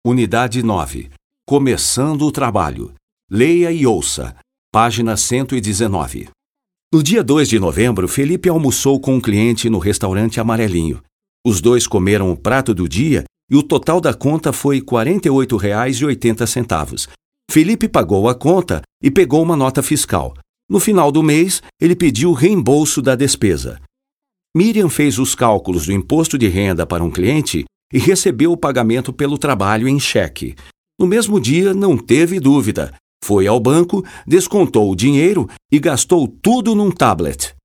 Unidade 9. Começando o trabalho. Leia e ouça. Página 119. No dia 2 de novembro, Felipe almoçou com um cliente no restaurante Amarelinho. Os dois comeram o prato do dia e o total da conta foi R$ 48,80. Felipe pagou a conta e pegou uma nota fiscal. No final do mês, ele pediu o reembolso da despesa. Miriam fez os cálculos do imposto de renda para um cliente e recebeu o pagamento pelo trabalho em cheque. No mesmo dia, não teve dúvida. Foi ao banco, descontou o dinheiro e gastou tudo num tablet.